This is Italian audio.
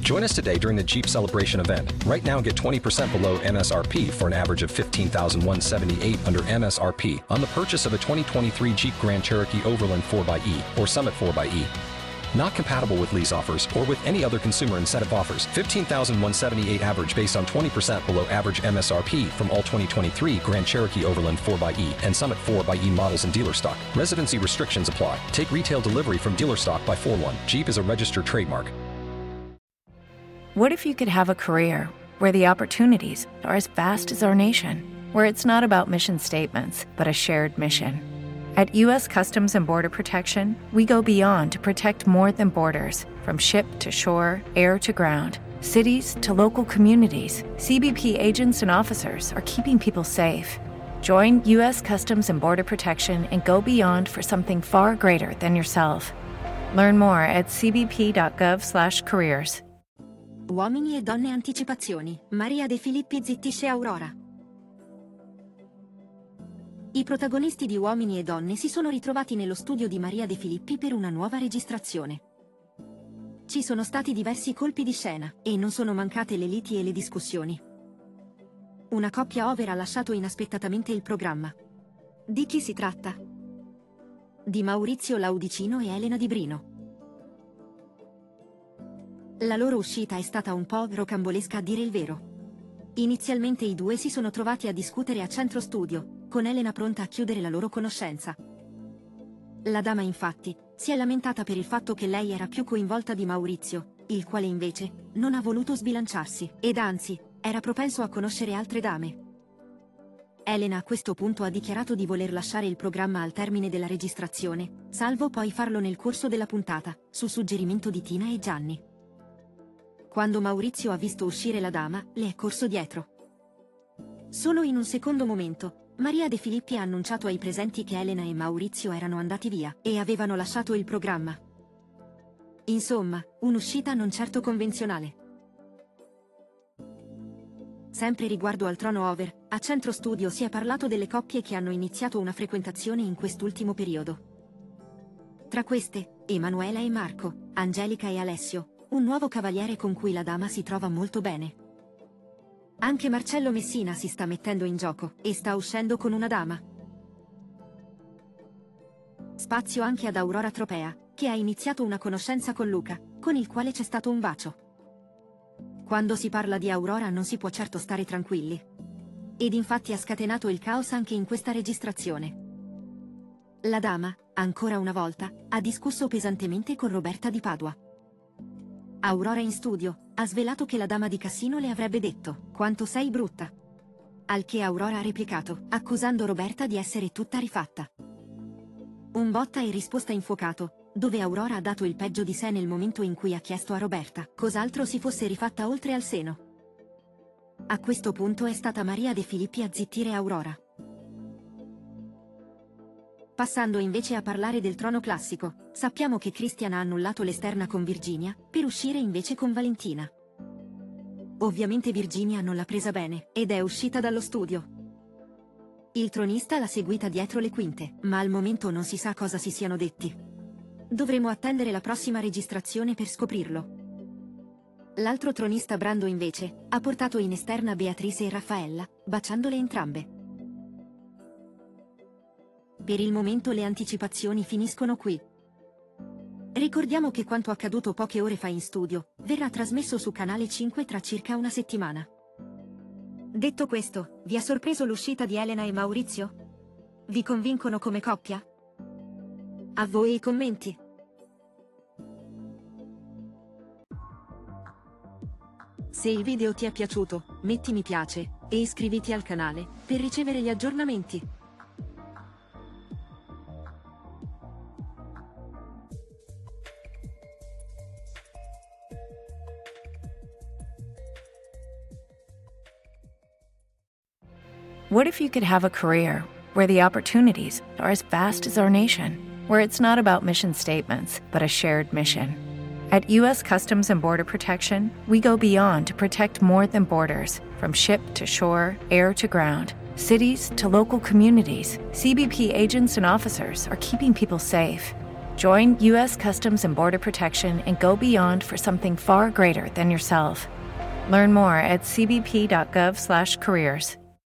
Join us today during the Jeep Celebration event. Right now, get 20% below MSRP for an average of $15,178 under MSRP on the purchase of a 2023 Jeep Grand Cherokee Overland 4xE or Summit 4xE. Not compatible with lease offers or with any other consumer incentive offers. $15,178 average based on 20% below average MSRP from all 2023 Grand Cherokee Overland 4xE and Summit 4xE models in dealer stock. Residency restrictions apply. Take retail delivery from dealer stock by 4/1. Jeep is a registered trademark. What if you could have a career where the opportunities are as vast as our nation, where it's not about mission statements, but a shared mission? At U.S. Customs and Border Protection, we go beyond to protect more than borders. From ship to shore, air to ground, cities to local communities, CBP agents and officers are keeping people safe. Join U.S. Customs and Border Protection and go beyond for something far greater than yourself. Learn more at cbp.gov/careers. Uomini e donne anticipazioni. Maria De Filippi zittisce Aurora. I protagonisti di Uomini e Donne si sono ritrovati nello studio di Maria De Filippi per una nuova registrazione. Ci sono stati diversi colpi di scena, e non sono mancate le liti e le discussioni. Una coppia over ha lasciato inaspettatamente il programma. Di chi si tratta? Di Maurizio Laudicino e Elena Di Brino. La loro uscita è stata un po' rocambolesca a dire il vero. Inizialmente i due si sono trovati a discutere a centro studio, con Elena pronta a chiudere la loro conoscenza. La dama infatti si è lamentata per il fatto che lei era più coinvolta di Maurizio, il quale invece non ha voluto sbilanciarsi, ed anzi, era propenso a conoscere altre dame. Elena a questo punto ha dichiarato di voler lasciare il programma al termine della registrazione, salvo poi farlo nel corso della puntata, su suggerimento di Tina e Gianni. Quando Maurizio ha visto uscire la dama, le è corso dietro. Solo in un secondo momento, Maria De Filippi ha annunciato ai presenti che Elena e Maurizio erano andati via e avevano lasciato il programma. Insomma, un'uscita non certo convenzionale. Sempre riguardo al trono over, a centro studio si è parlato delle coppie che hanno iniziato una frequentazione in quest'ultimo periodo. Tra queste, Emanuela e Marco, Angelica e Alessio, un nuovo cavaliere con cui la dama si trova molto bene. Anche Marcello Messina si sta mettendo in gioco e sta uscendo con una dama. Spazio anche ad Aurora Tropea, che ha iniziato una conoscenza con Luca, con il quale c'è stato un bacio. Quando si parla di Aurora non si può certo stare tranquilli. Ed infatti ha scatenato il caos anche in questa registrazione. La dama, ancora una volta, ha discusso pesantemente con Roberta di Padua. Aurora in studio ha svelato che la dama di Cassino le avrebbe detto «Quanto sei brutta». Al che Aurora ha replicato, accusando Roberta di essere tutta rifatta. Un botta e risposta infuocato, dove Aurora ha dato il peggio di sé nel momento in cui ha chiesto a Roberta cos'altro si fosse rifatta oltre al seno. A questo punto è stata Maria De Filippi a zittire Aurora. Passando invece a parlare del trono classico, sappiamo che Christian ha annullato l'esterna con Virginia, per uscire invece con Valentina. Ovviamente Virginia non l'ha presa bene, ed è uscita dallo studio. Il tronista l'ha seguita dietro le quinte, ma al momento non si sa cosa si siano detti. Dovremo attendere la prossima registrazione per scoprirlo. L'altro tronista Brando invece, ha portato in esterna Beatrice e Raffaella, baciandole entrambe. Per il momento le anticipazioni finiscono qui. Ricordiamo che quanto accaduto poche ore fa in studio verrà trasmesso su Canale 5 tra circa una settimana. Detto questo, vi ha sorpreso l'uscita di Elena e Maurizio? Vi convincono come coppia? A voi i commenti. Se il video ti è piaciuto, metti mi piace e iscriviti al canale per ricevere gli aggiornamenti. What if you could have a career where the opportunities are as vast as our nation, where it's not about mission statements, but a shared mission? At U.S. Customs and Border Protection, we go beyond to protect more than borders. From ship to shore, air to ground, cities to local communities, CBP agents and officers are keeping people safe. Join U.S. Customs and Border Protection and go beyond for something far greater than yourself. Learn more at cbp.gov/careers.